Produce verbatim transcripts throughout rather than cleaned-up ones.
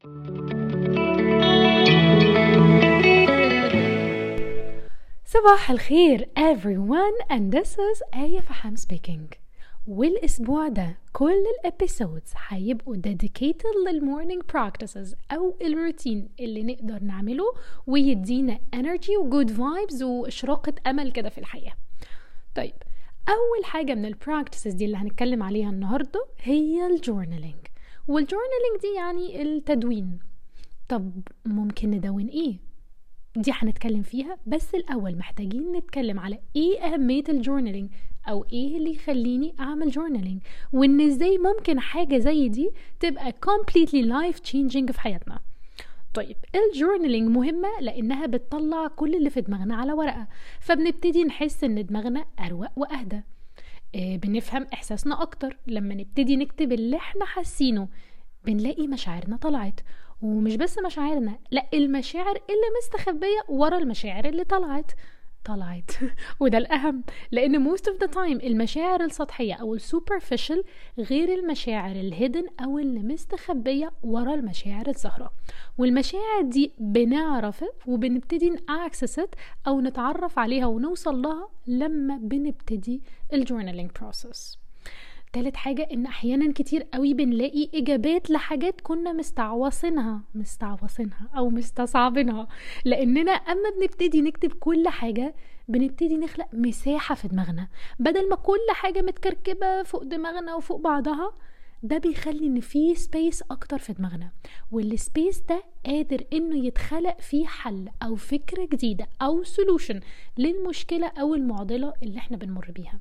صباح الخير everyone and this is آية فحام speaking. والأسبوع ده كل الابيسودز هيبقوا dedicated للمورنينج practices أو الروتين اللي نقدر نعمله ويدينا energy و good vibes وإشراقة أمل كده في الحياة. طيب، أول حاجة من البراكتسز دي اللي هنتكلم عليها النهاردة هي الجورنالينج. والجورنالينج دي يعني التدوين. طب ممكن ندون إيه؟ دي هنتكلم فيها، بس الأول محتاجين نتكلم على إيه أهمية الجورنالينج أو إيه اللي يخليني أعمل جورنالينج، وإن إزاي ممكن حاجة زي دي تبقى completely life changing في حياتنا. طيب، الجورنالينج مهمة لأنها بتطلع كل اللي في دماغنا على ورقة، فبنبتدي نحس إن دماغنا أروق وأهدى. إيه، بنفهم إحساسنا أكتر لما نبتدي نكتب اللي احنا حاسينه. بنلاقي مشاعرنا طلعت، ومش بس مشاعرنا، لا، المشاعر اللي مستخبية ورا المشاعر اللي طلعت طلعت وده الأهم، لأن most of the time المشاعر السطحية أو السوبرفيشل غير المشاعر الهيدن أو اللي مستخبية ورا المشاعر الظاهرة. والمشاعر دي بنعرفها وبنبتدي نأكسست أو نتعرف عليها ونوصل لها لما بنبتدي الجورنالينج بروسس. تالت حاجة ان احيانا كتير قوي بنلاقي اجابات لحاجات كنا مستعوصينها مستعوصينها او مستصعبينها، لاننا اما بنبتدي نكتب كل حاجة بنبتدي نخلق مساحة في دماغنا، بدل ما كل حاجة متكركبة فوق دماغنا وفوق بعضها. ده بيخلي ان في سبيس اكتر في دماغنا، والسبيس ده قادر انه يتخلق فيه حل او فكرة جديدة او سولوشن للمشكلة او المعضلة اللي احنا بنمر بيها.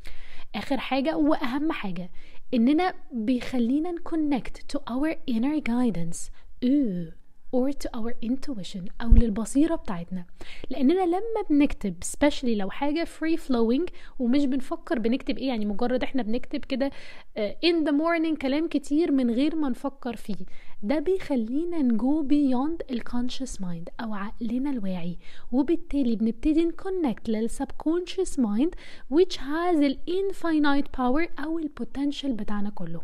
آخر حاجة وأهم حاجة إننا بيخلينا نكونكت to our inner guidance ooh, or to our intuition أو للبصيرة بتاعتنا. لأننا لما بنكتب especially لو حاجة free flowing ومش بنفكر بنكتب إيه، يعني مجرد إحنا بنكتب كده in the morning كلام كتير من غير ما نفكر فيه، ده بيخلينا نجو beyond ال conscious mind أو عقلنا الواعي، وبالتالي بنبتدي نكونكت لل subconscious mind which has ال infinite power أو ال potential بتاعنا كله.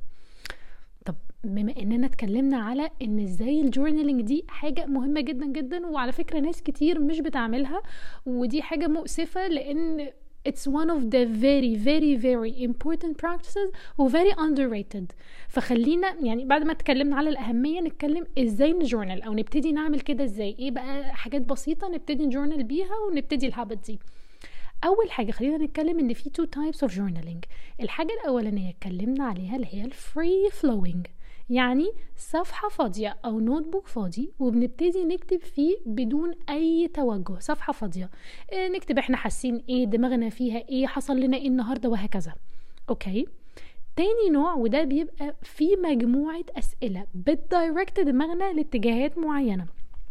طب بما اننا اتكلمنا على ان ازاي الجورنالينج دي حاجة مهمة جدا جدا، وعلى فكرة ناس كتير مش بتعملها، ودي حاجة مؤسفة لان it's one of the very very very important practices و very underrated. فخلينا يعني بعد ما اتكلمنا على الأهمية نتكلم ازاي نجورنال او نبتدي نعمل كده ازاي. ايه بقى حاجات بسيطة نبتدي نجورنال بيها ونبتدي الهابت دي. اول حاجه خلينا نتكلم ان في two types of journaling. الحاجه الاولانيه اتكلمنا عليها اللي هي الفري فلوينج، يعني صفحه فاضيه او نوت بوك فاضي وبنبتدي نكتب فيه بدون اي توجه، صفحه فاضيه إيه، نكتب احنا حاسين ايه، دماغنا فيها ايه، حصل لنا ايه النهارده، وهكذا. اوكي، تاني نوع وده بيبقى فيه مجموعه اسئله بتدايركت دماغنا لاتجاهات معينه،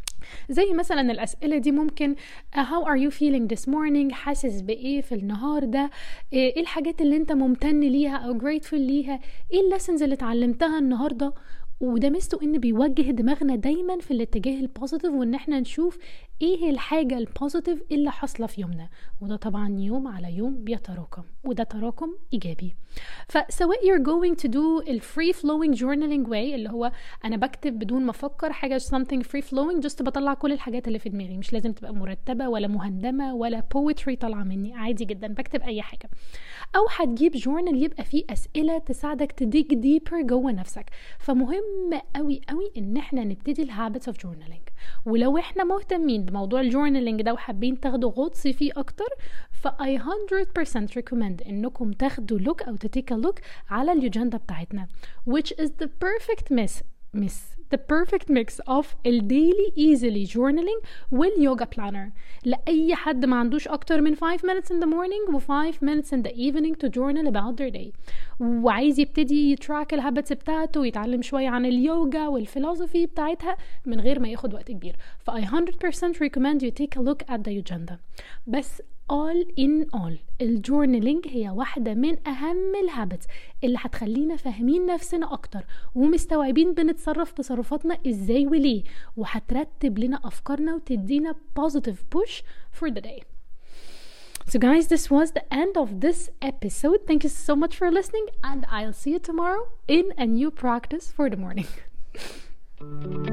زي مثلا الأسئلة دي ممكن how are you feeling this morning، حاسس بإيه في النهار ده، إيه الحاجات اللي انت ممتن ليها أو grateful ليها، ايه الليسنز اللي اتعلمتها النهاردة. وده ميزته ان بيوجه دماغنا دايما في الاتجاه البوزيتيف، وان احنا نشوف ايه الحاجة البوزيتيف اللي حصلة في يومنا، وده طبعا يوم على يوم بيتراكم، وده تراكم ايجابي. فسواء you're going to do ال free flowing journaling way اللي هو انا بكتب بدون ما افكر حاجة something free flowing just بطلع كل الحاجات اللي في دماغي، مش لازم تبقى مرتبة ولا مهندمة ولا poetry طالعة مني، عادي جدا بكتب اي حاجة. او هتجيب جورنال يبقى فيه اسئلة تساعدك تديك deeper جوه نفسك. فمهم قوي قوي ان احنا نبتدي الهابتس اوف جورنالينج. ولو احنا مهتمين بموضوع الجورنالينج ده وحابين تاخدوا غطس فيه اكتر، ف I one hundred percent recommend انكم تاخدوا لوك او تتيك لوك على اليوجندا بتاعتنا which is the perfect mix mix the perfect mix of ال daily easily journaling واليوجا planner لأي حد ما عندوش أكتر من five minutes in the morning و five minutes in the evening to journal about their day، وعايز يبتدي يتراك الهابتس بتاعته ويتعلم شوية عن اليوجا والفلسفي بتاعتها من غير ما ياخد وقت كبير. ف I one hundred percent recommend you take a look at the agenda. بس all in all الجورنالينج هي واحدة من أهم الهابتس اللي هتخلينا فاهمين نفسنا أكتر ومستوعبين بنتصرف تصرفاتنا إزاي وليه، وهترتب لنا أفكارنا وتدينا positive push for the day. So guys, this was the end of this episode. Thank you so much for listening, and I'll see you tomorrow in a new practice for the morning.